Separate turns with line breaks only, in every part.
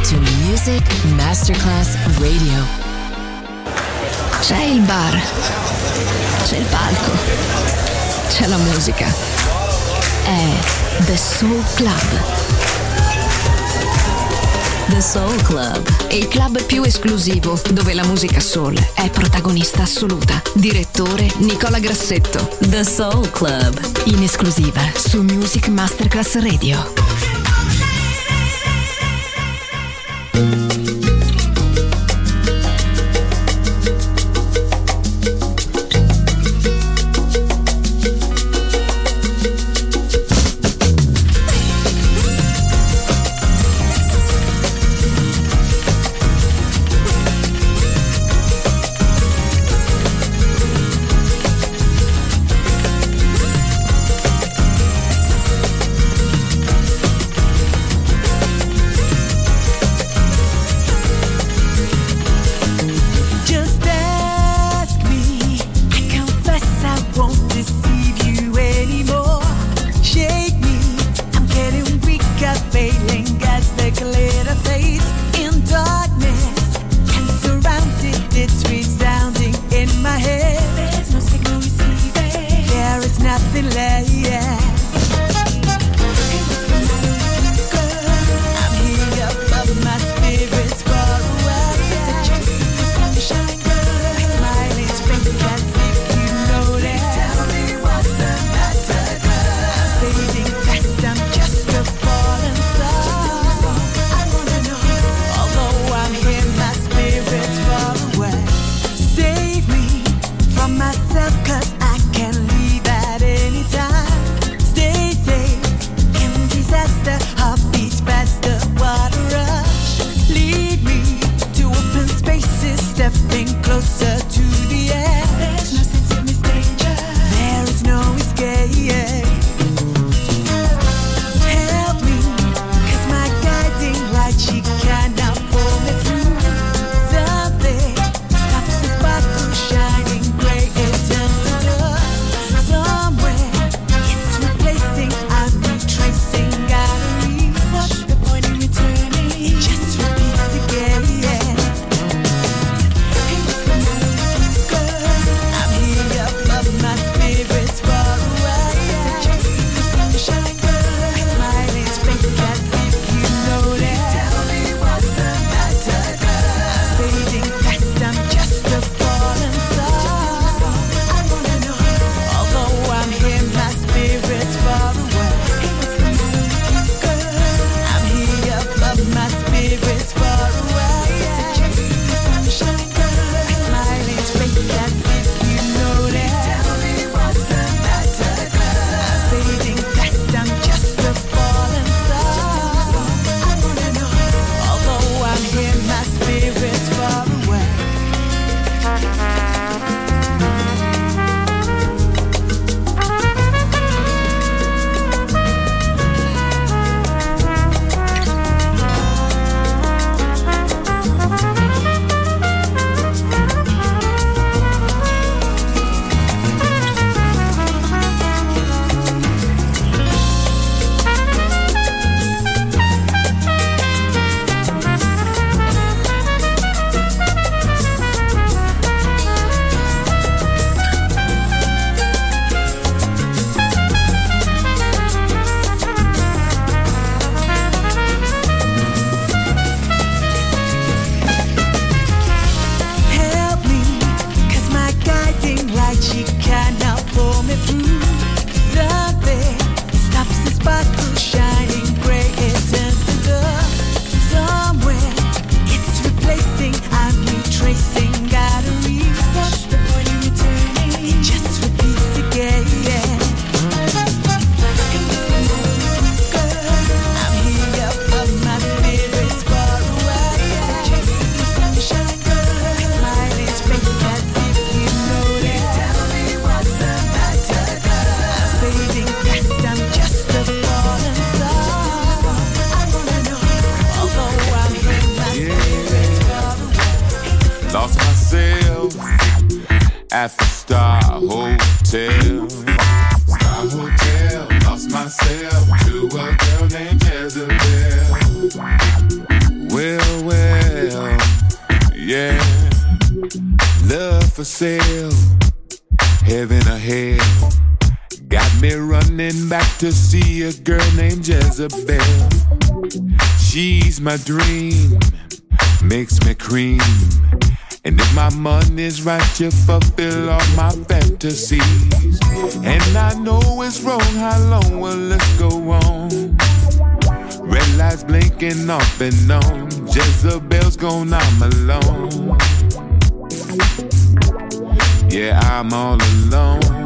to Music Masterclass Radio.
C'è il bar, c'è il palco, c'è la musica. È The Soul Club.
The Soul Club,
Il club più esclusivo dove la musica soul è protagonista assoluta. Direttore Nicola Grassetto.
The Soul Club,
In esclusiva su Music Masterclass Radio.
at the Star Hotel. Star Hotel, lost myself to a girl named Jezebel. Well, for sale, heaven or hell. Got me running back to see a girl named Jezebel. She's my dream, makes me cream. And if my money's right, you fulfill all my fantasies. And I know it's wrong, how long will this go on? Red lights blinking off and on. Jezebel's gone, I'm alone. Yeah, I'm all alone.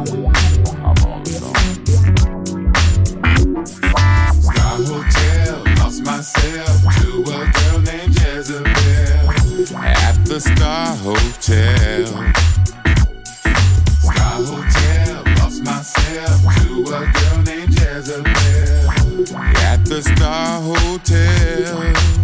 Star Hotel, lost myself to a girl named Jezebel. At the Star Hotel. Star Hotel, lost myself to a girl named Jezebel. At the Star Hotel.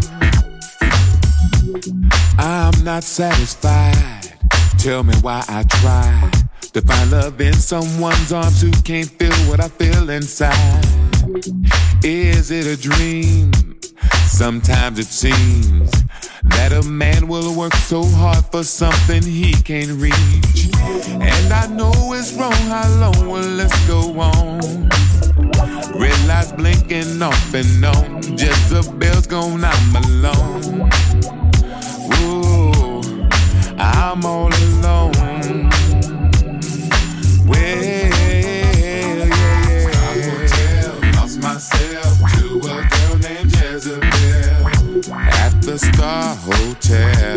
I'm not satisfied. Tell me why I try to find love in someone's arms who can't feel what I feel inside. Is it a dream? Sometimes it seems that a man will work so hard for something he can't reach. And I know it's wrong, how long will this go on? Red lights blinking off and on. Jezebel's gone, I'm alone. Ooh, I'm all alone. Well, yeah. Star Hotel, lost myself to a girl named Jezebel. At the Star Hotel.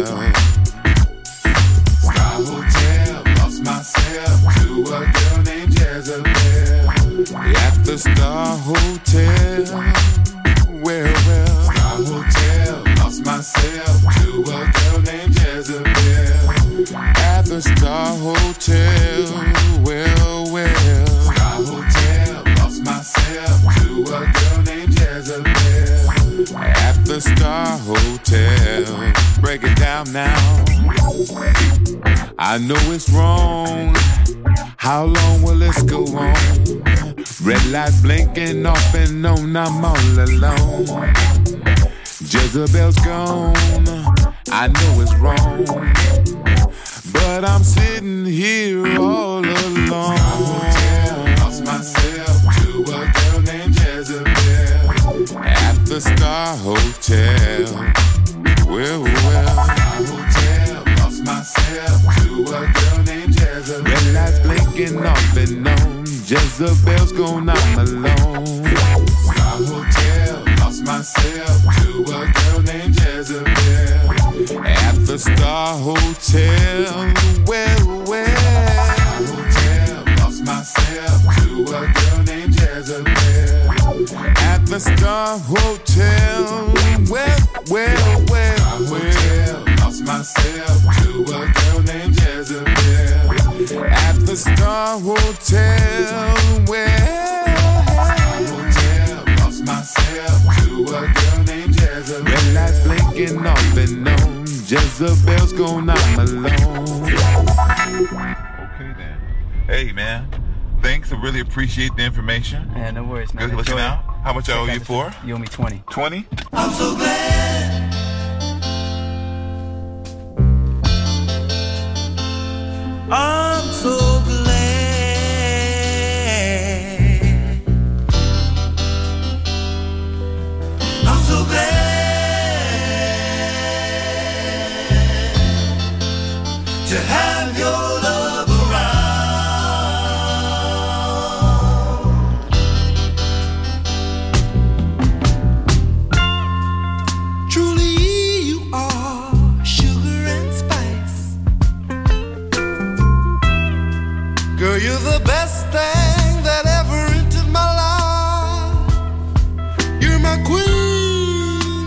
Star Hotel, lost myself to a girl named Jezebel. At the Star Hotel. Well. Star Hotel, lost myself to a girl named Jezebel. At the Star Hotel. Well. Star Hotel, lost myself to a girl named Jezebel. At the Star Hotel. Break it down now. I know it's wrong. How long will this go on? Red lights blinking off and on, I'm all alone. Jezebel's gone, I know it's wrong, but I'm sitting here all alone. Star Hotel, lost myself to a girl named Jezebel. At the Star Hotel. Well. Star Hotel, lost myself to a girl named Jezebel. Red lights blinking off and on. Jezebel's gone, I'm alone. Star Hotel, lost myself to a girl named Jezebel. At the Star Hotel. Well. Star Hotel, lost myself to a girl named Jezebel. At the Star Hotel. Well. Star Hotel, lost myself to a girl named Jezebel. At the Star Hotel. Well. Star Hotel, lost myself to a girl named Jezebel. Red lights blinking off and on. Jezebel's gone, I'm alone. Okay then. Hey man, thanks. I really appreciate the information.
Yeah, no worries, man.
Good looking out. How much I owe you for?
You owe me 20.
20?
I'm so glad. I'm so glad. I'm so glad to have your love around. Truly you are sugar and spice. Girl, you're the best thing that ever entered my life. You're my queen,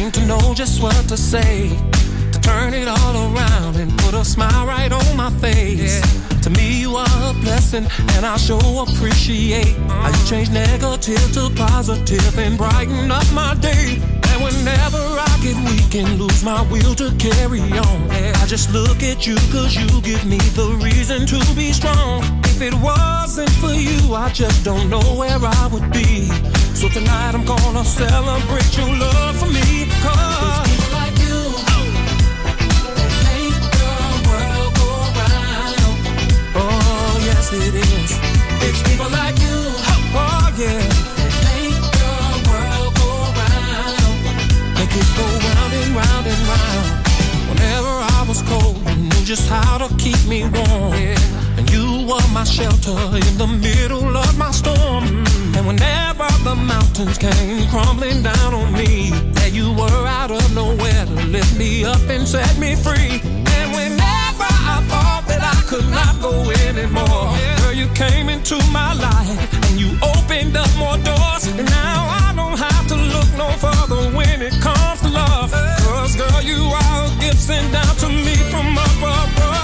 seem to know just what to say, to turn it all around and put a smile right on my face. To me you are a blessing, and I sure appreciate how you change negative to positive and brighten up my day. And whenever I get weak and lose my will to carry on, I just look at you, cause you give me the reason to be strong. If it wasn't for you, I just don't know where I would be. So tonight I'm gonna celebrate your love for me, cause people like you, they make the world go round. Oh yes it is. It's people like you, oh yeah, they make the world go round. Make it go round and round and round. Whenever I was cold, you knew just how to keep me warm, and you were my shelter in the middle of my storm. And whenever the mountains came crumbling down on me, there you were out of nowhere to lift me up and set me free. And whenever I thought that I could not go anymore, girl, you came into my life and you opened up more doors. And now I don't have to look no further when it comes to love, cause girl, you are a gift sent down to me from up above.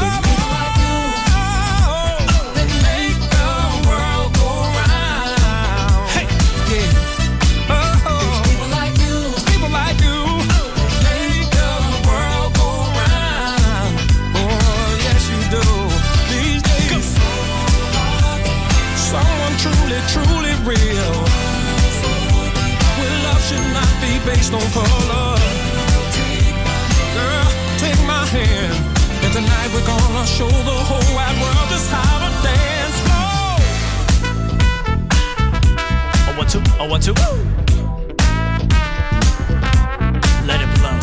Truly real. Well, love should not be based on color. Girl, take my hand, and tonight we're gonna show the whole wide world just how to dance. Oh, 1, 2, oh, 1, 2. Let it blow.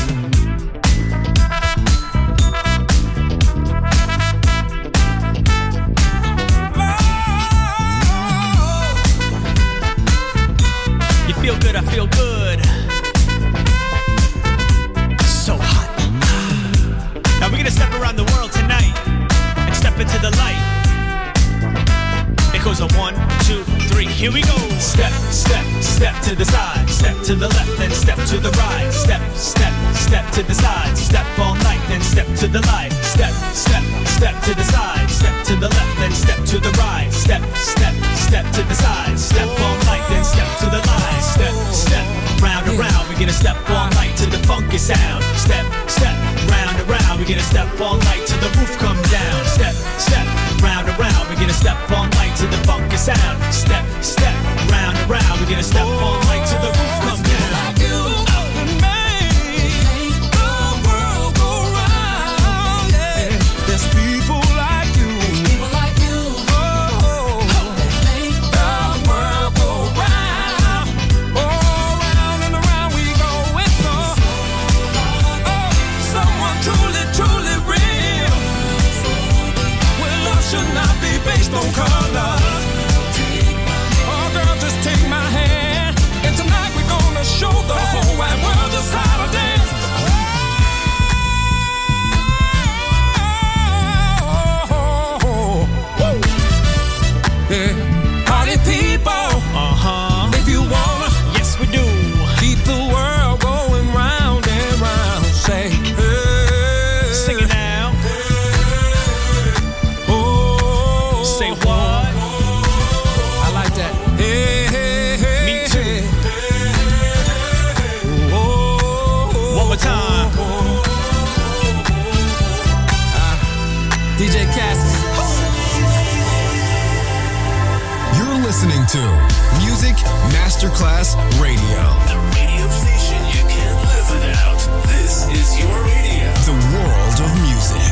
Feel good, I feel good. So hot. Now we're gonna step around the world tonight and step into the light. It goes on 1, 2, 3, here we go. Step, step, step to the side. Step to the left, then step to the right. Step, step, step to the side. Step all night, then step to the light. Step, step, step to the side. Step to the left, then step to the right. Step, step, step to the side. Step all night, then step to the light. Step, step, round and round. We're gonna step all night to the funky sound. Step, step, round and round. We're gonna step all night till the roof comes down. Step, step, round and round. We're gonna step all night to the funky sound. Step, step, round and round. We're gonna step all night till the roof comes down. Based on color. Oh girl, just take my hand, and tonight we're gonna show the whole wide world just how to dance. Yeah. Party people, if you wanna, yes we do. Keep the world going round and round. Say, hey. Sing it now. Say what? I like that. Hey, hey, hey. Me too. One more time. DJ Cassis.
You're listening to Music Masterclass Radio.
The radio station you can't live without. This is your radio.
The world of music.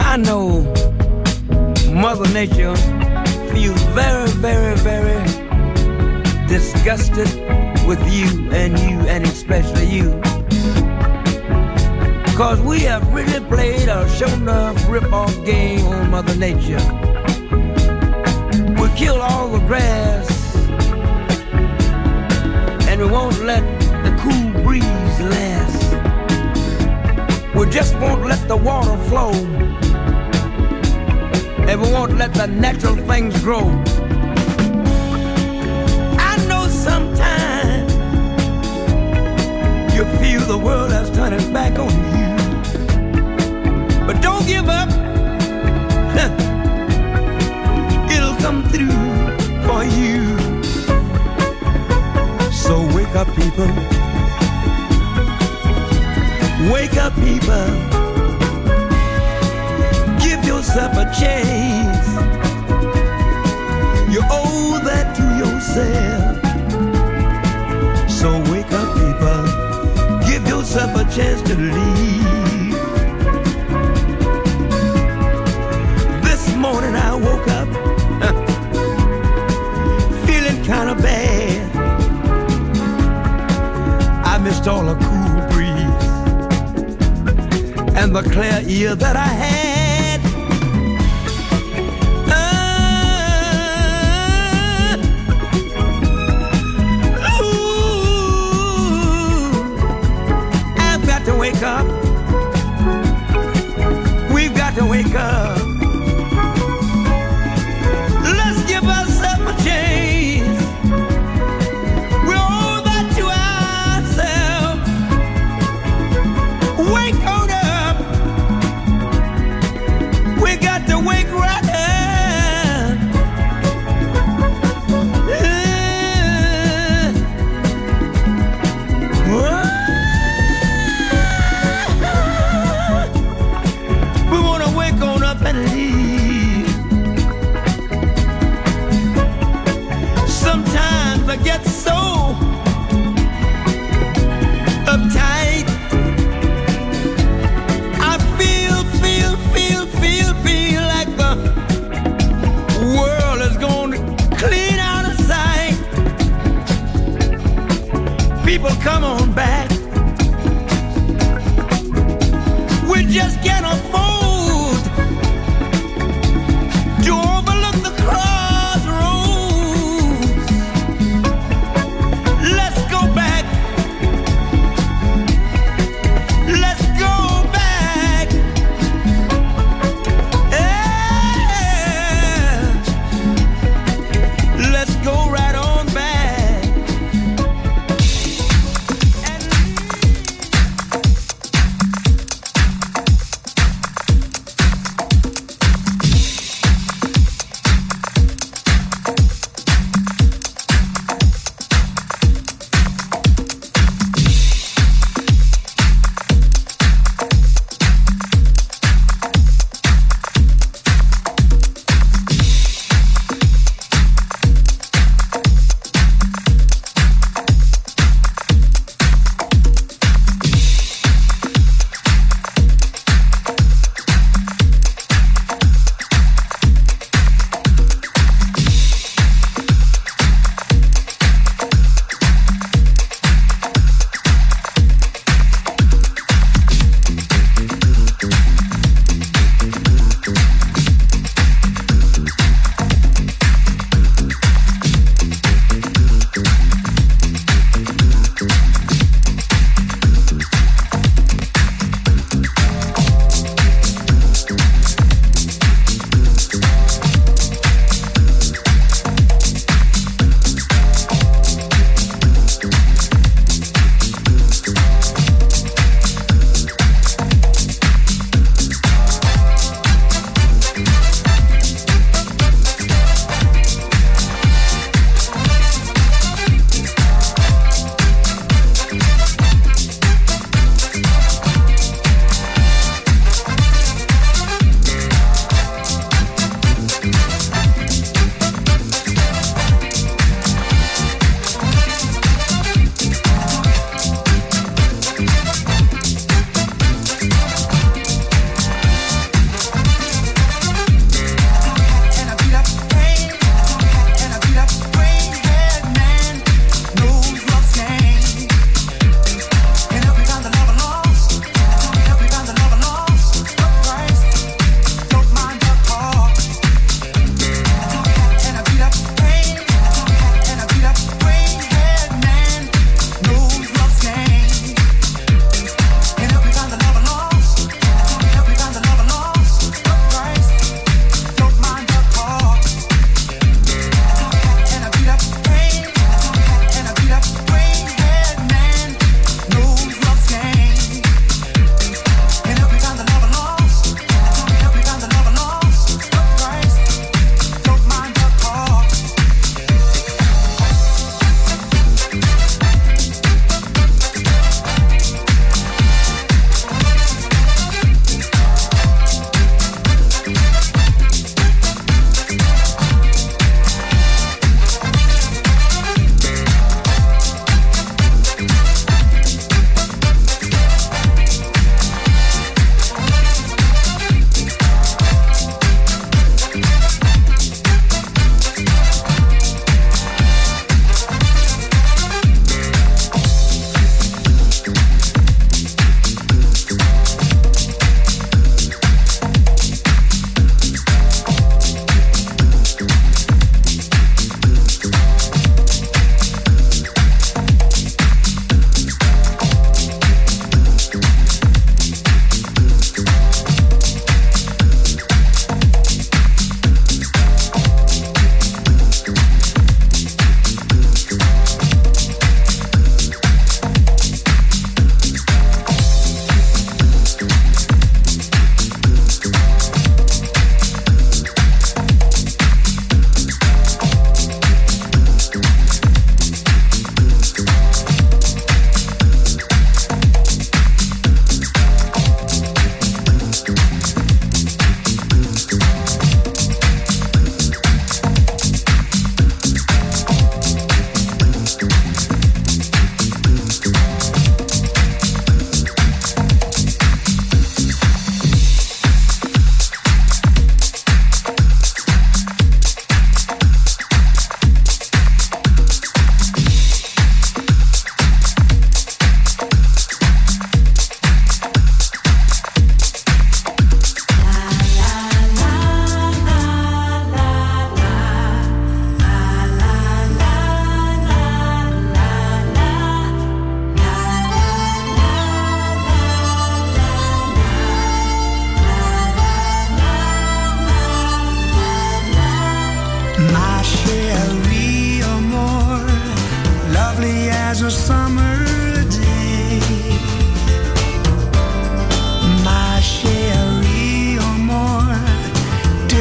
I know Mother Nature feels very, very, very disgusted with you and especially you. Cause we have really played a show enough rip-off game on Mother Nature. We kill all the grass and we won't let the cool breeze last. We just won't let the water flow and we won't let the natural things grow. I know sometimes you feel the world has turned its back on you, but don't give up. It'll come through for you. So wake up, people. Wake up, people. Give yourself a chance. You owe that to yourself. So wake up, people. Give yourself a chance to leave. This morning I woke up feeling kind of bad. I missed all the cool breeze and the clear ear that I had. I've got to wake up. We've got to wake up. Let's give ourselves a chance. We owe that to ourselves. Wake on up. We got to wake right up. We want to wake on up and leave. Sometimes I get so uptight. I feel like the world is going to clean out of sight. People, come on back. We just can't afford to overlook the crossroads.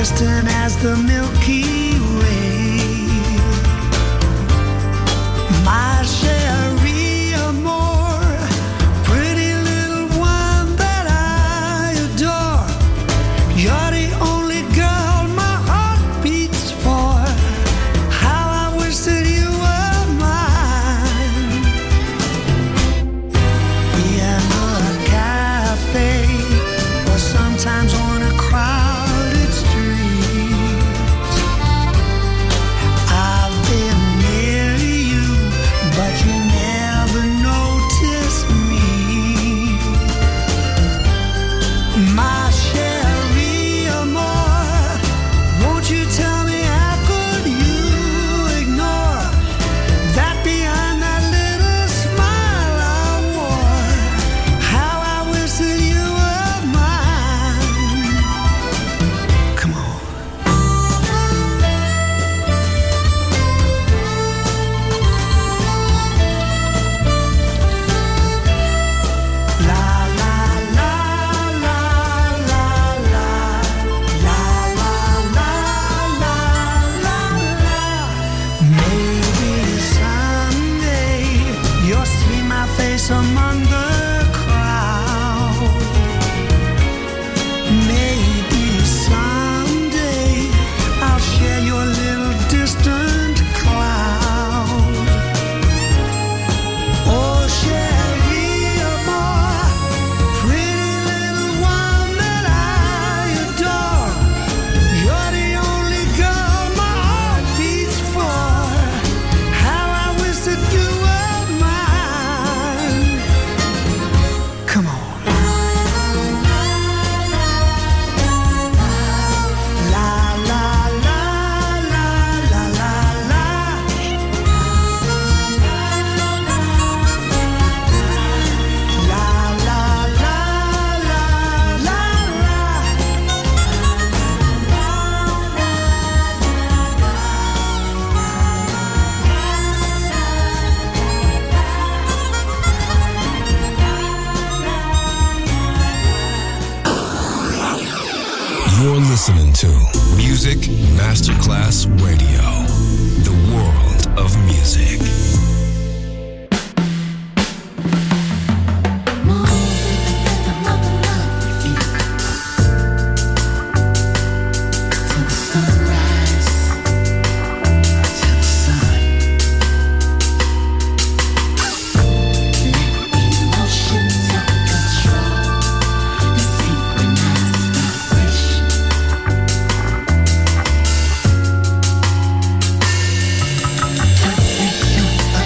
distant as the Milky Way. My Cherie Amour, pretty little one that I adore. You're the only girl my heart beats for. How I wish that you were mine. In a cafe, or sometimes on a crowded street. I've been near you, but you never notice me. My Cherie Amour, won't you tell me how could you ignore that behind that little smile I wore? How I wish that you were mine. Come on. La la la la la la la la la la. Maybe someday you'll see my face among the crowd. Maybe someday I'll share your little distant cloud. Oh, Cherie Amour, pretty little one that I adore. You're the only girl my heart beats for. How I wish that you were mine. Come on. La la la la la la la. La la la la la
You're listening to Music Masterclass Radio, the world of music.
la.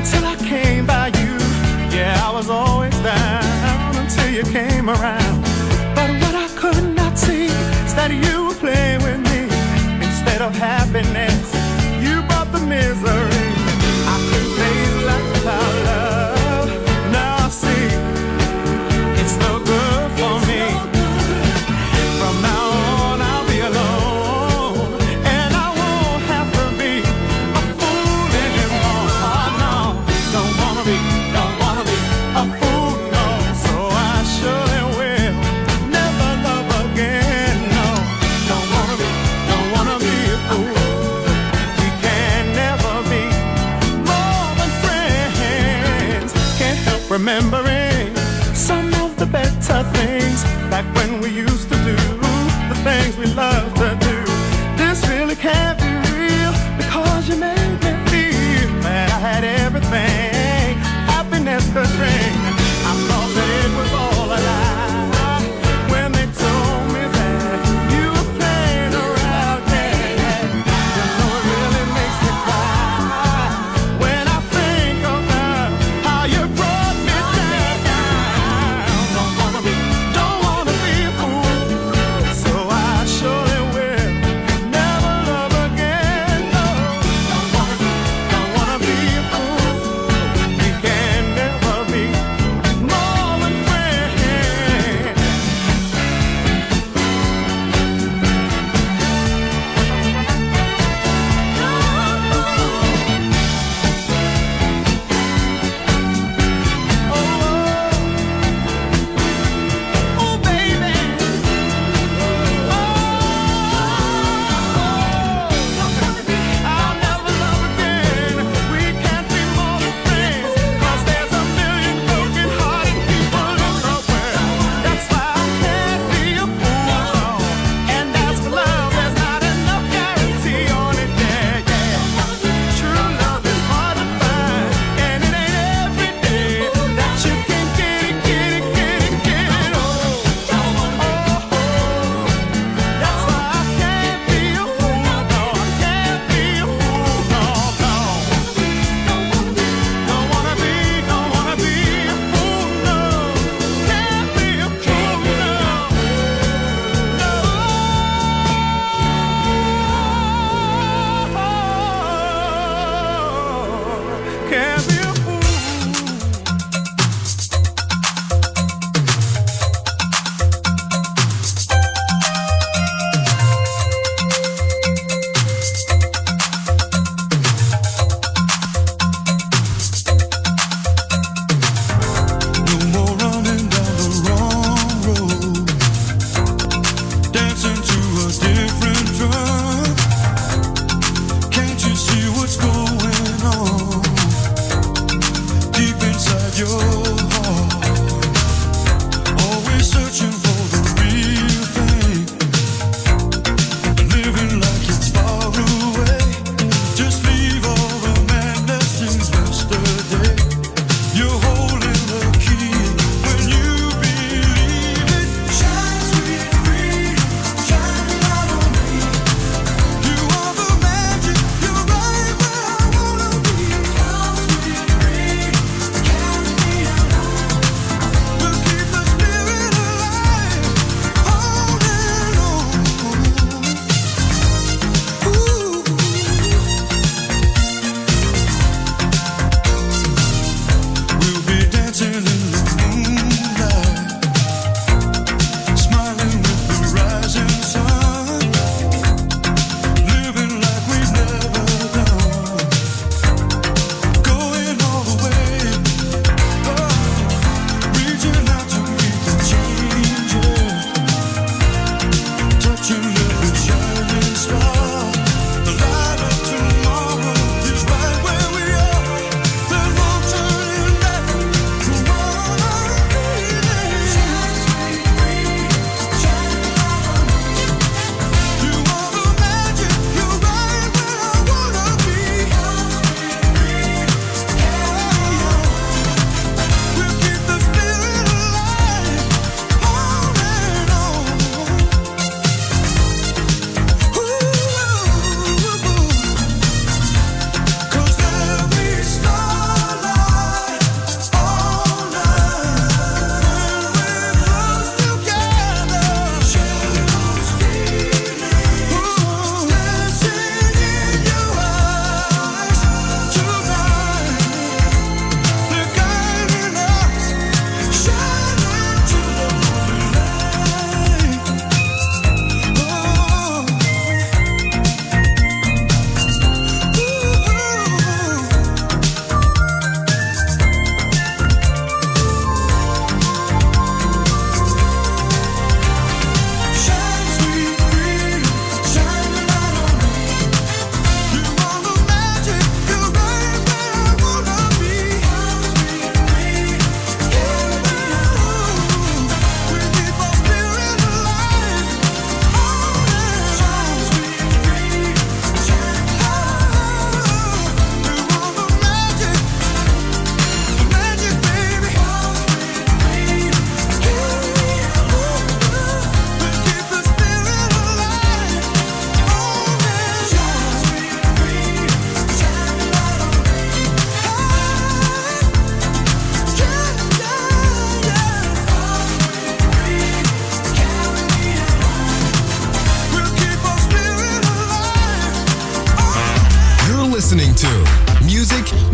until I came by you. Yeah, I was always down until you came around. But what I could not see is that you were playing with me. Instead of happiness, you brought the misery. I couldn't face life without love. Now I see it's no good for me. From now on I'll be alone, and I won't have to be a fool anymore. Oh no, no,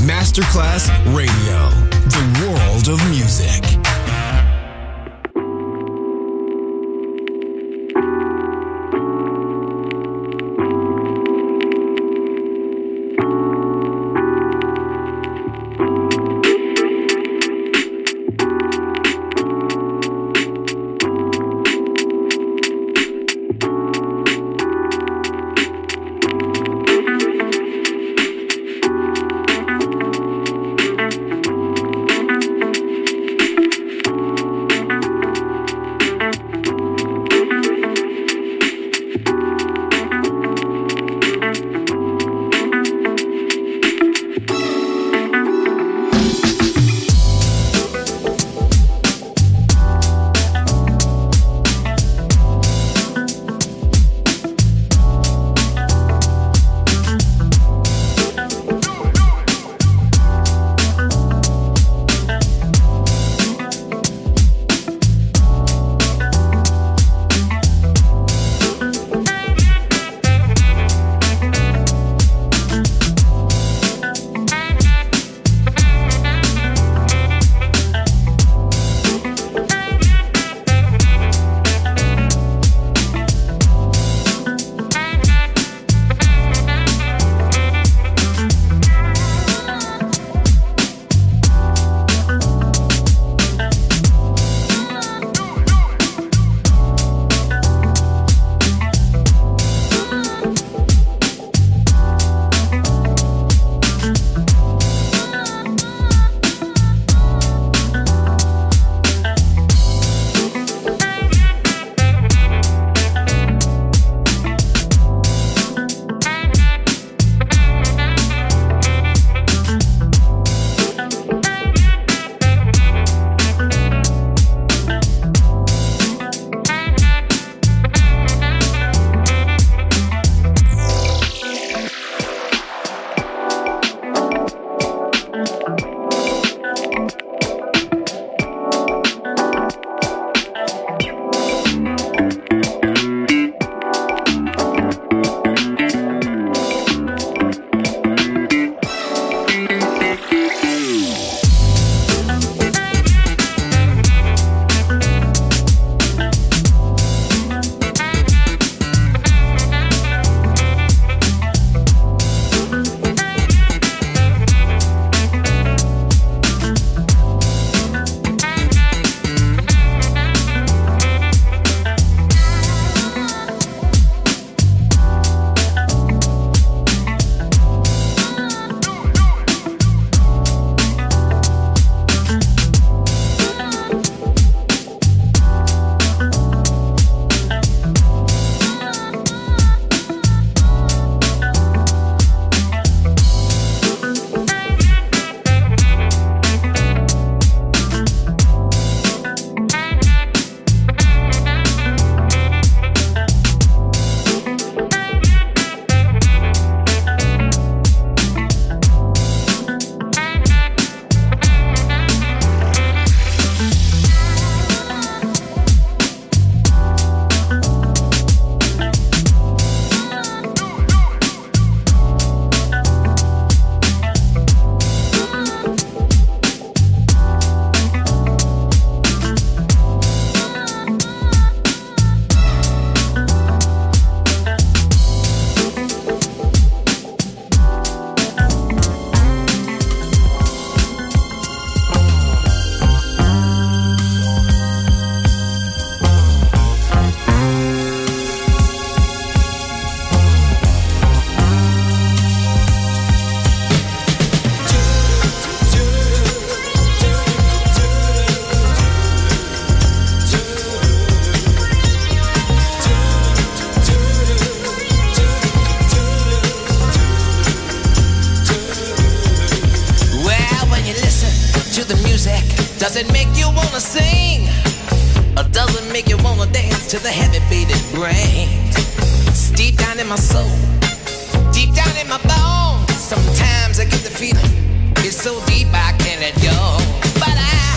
Masterclass Radio, the world of music.
Does it make you wanna sing? Or does it make you wanna dance to the heavy beat it brings? It's deep down in my soul, deep down in my bones. Sometimes I get the feeling, it's so deep I can't let go. But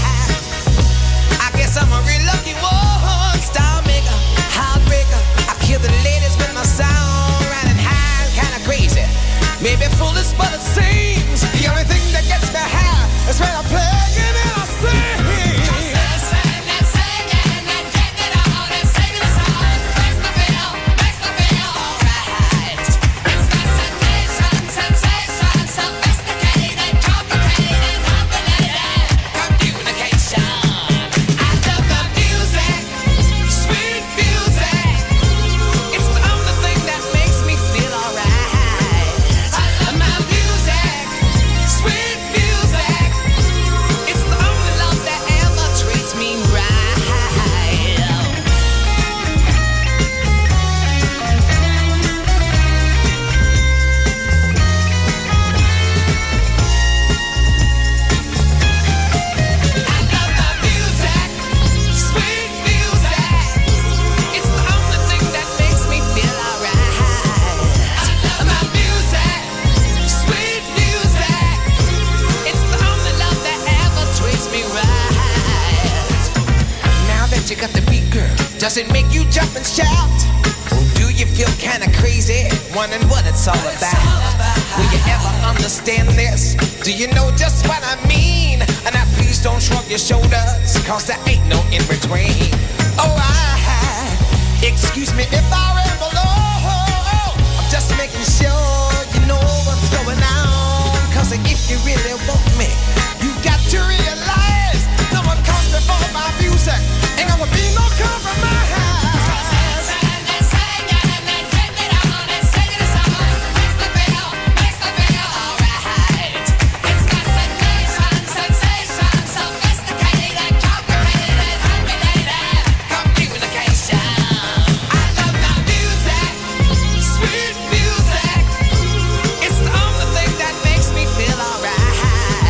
I guess I'm a real lucky one. Star maker, heartbreaker. I kill the ladies with my sound, riding high, kinda crazy. Maybe foolish, but it seems the only thing that Does it make you jump and shout? Do you feel kinda crazy, wondering what it's all about? Will you ever understand this? Do you know just what I mean? And now please don't shrug your shoulders, cause there ain't no in between. Oh, excuse me if I ramble, I'm just making sure you know what's going on. Cause if you really want me, you got to realize no one comes before my music. Ain't gonna be no compromise. Sweet music, it's the only thing that makes me feel alright.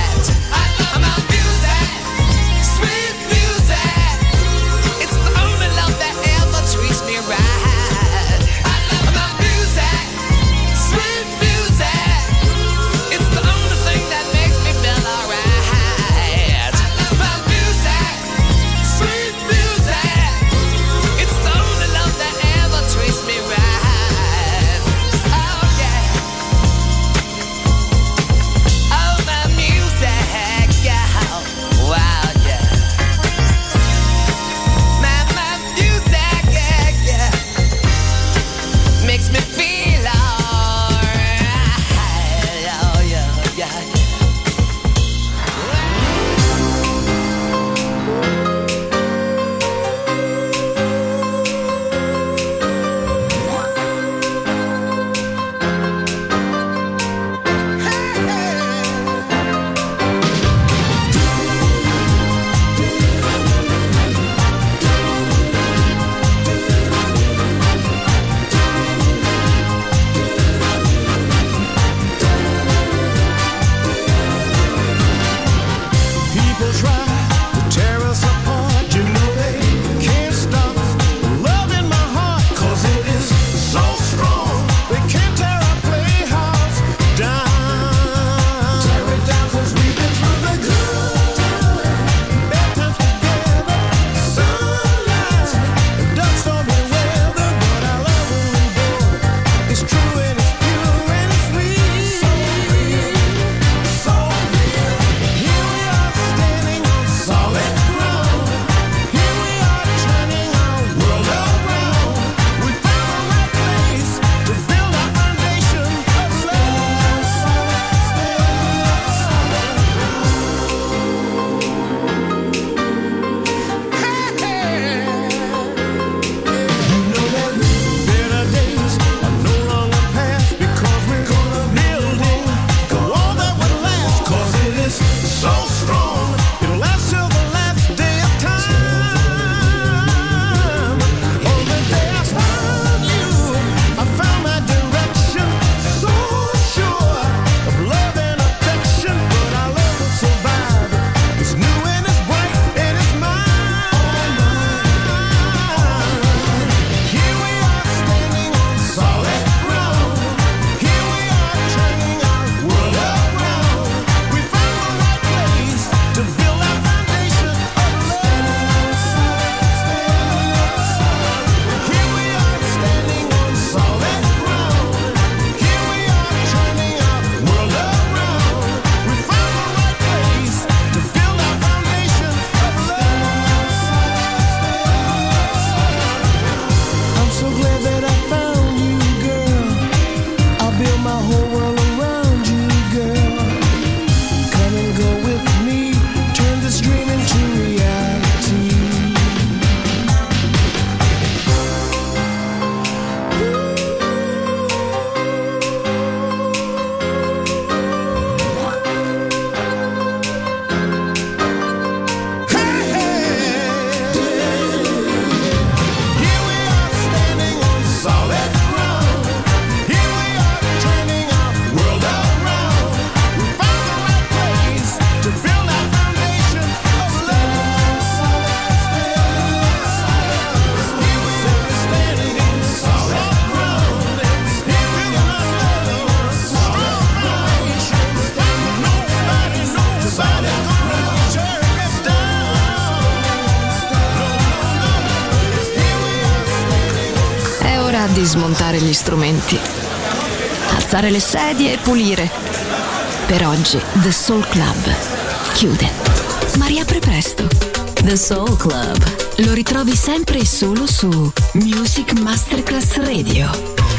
ora di smontare gli strumenti, alzare le sedie e pulire. Per oggi The Soul Club chiude, ma riapre presto.
The Soul Club.
Lo ritrovi sempre e solo su Music Masterclass Radio.